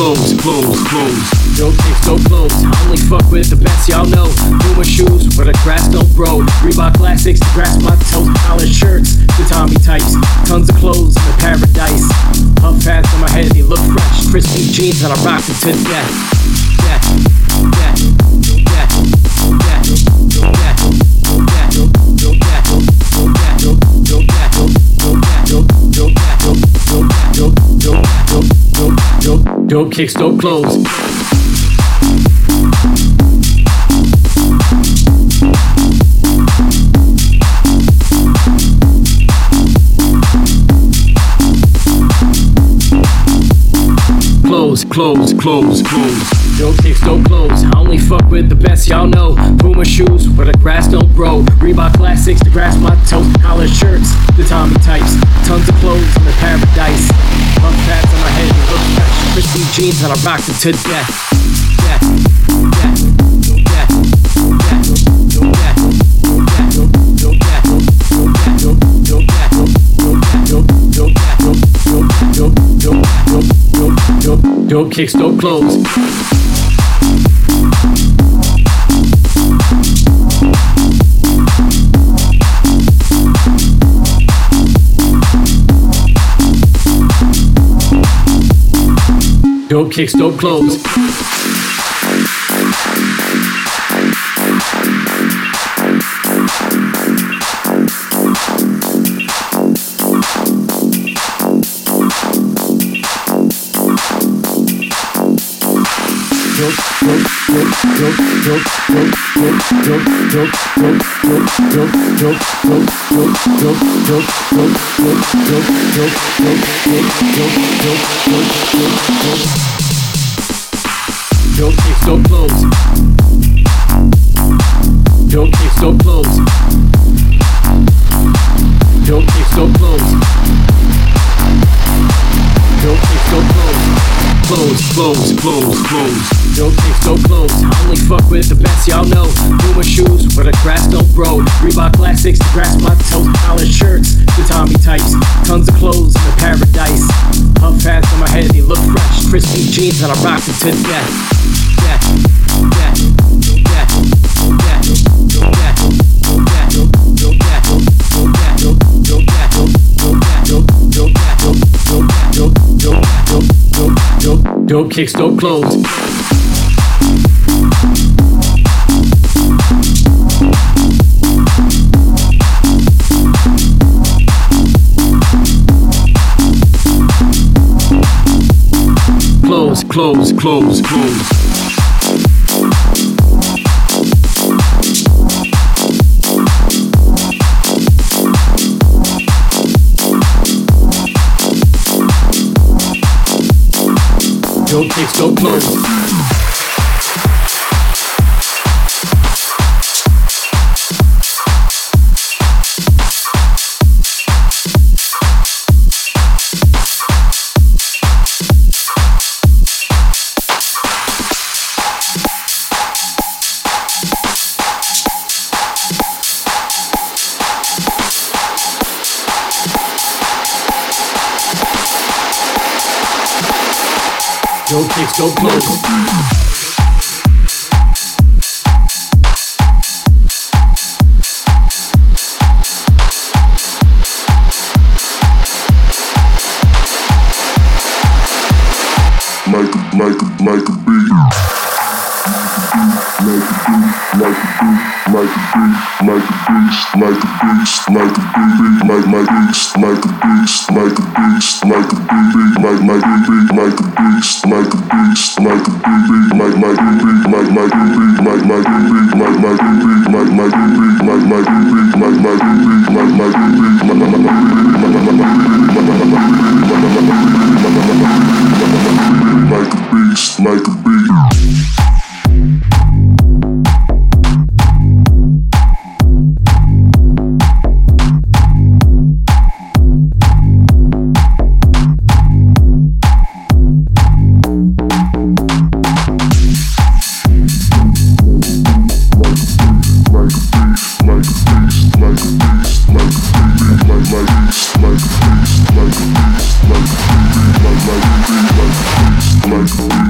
close. No kicks, no clothes. I only fuck with the best, y'all know. Puma shoes where the grass don't grow. Reebok classics to grasp my toes. Collared shirts, the Tommy types. Tons of clothes in the paradise. Puff hats on my head, they look fresh. Crispy jeans and I rock it to death. Dope kicks, dope clothes. Clothes. Dope kicks, dope clothes. I only fuck with the best, y'all know. Puma shoes where the grass don't grow. Reebok classics to grasp my toes. Collared shirts, the Tommy types. Tons of clothes in the paradise. Puff pads on my head, they look fresh. Crispy jeans and I rock it to death. Dope kicks, dope clothes. Dope kicks, dope clothes. Dope kicks, dope clothes. Dope kicks, dope clothes. Dope kicks, dope clothes. Dope kicks, dope clothes. Clothes. Dope kicks, dope clothes. I only fuck with the best, y'all know. Puma shoes where the grass don't grow. Reebok classics to grasp my toes. Collared shirts, the Tommy types. Tons of clothes in the paradise. Puff hats on my head, they look fresh. Crispy jeans and I rock it to death. Dope kicks, dope clothes. Clothes. Dope kicks, dope clothes. Dope kicks, dope clothes. Like a a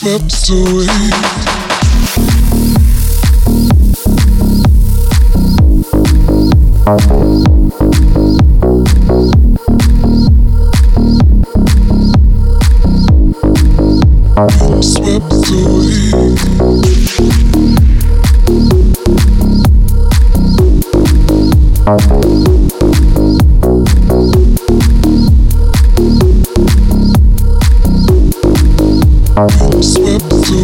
swept away. Swept away. Swept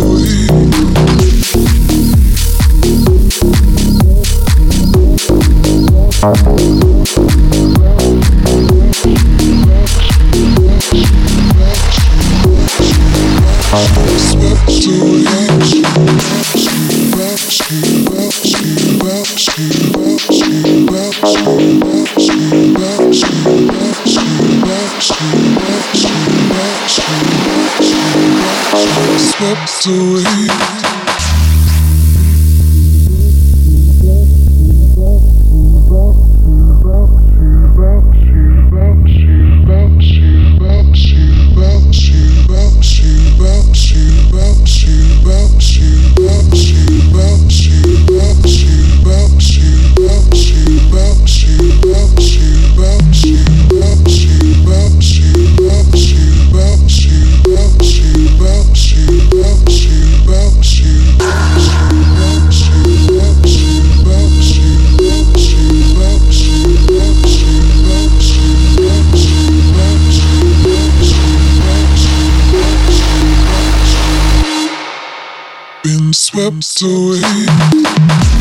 away. Been swept away.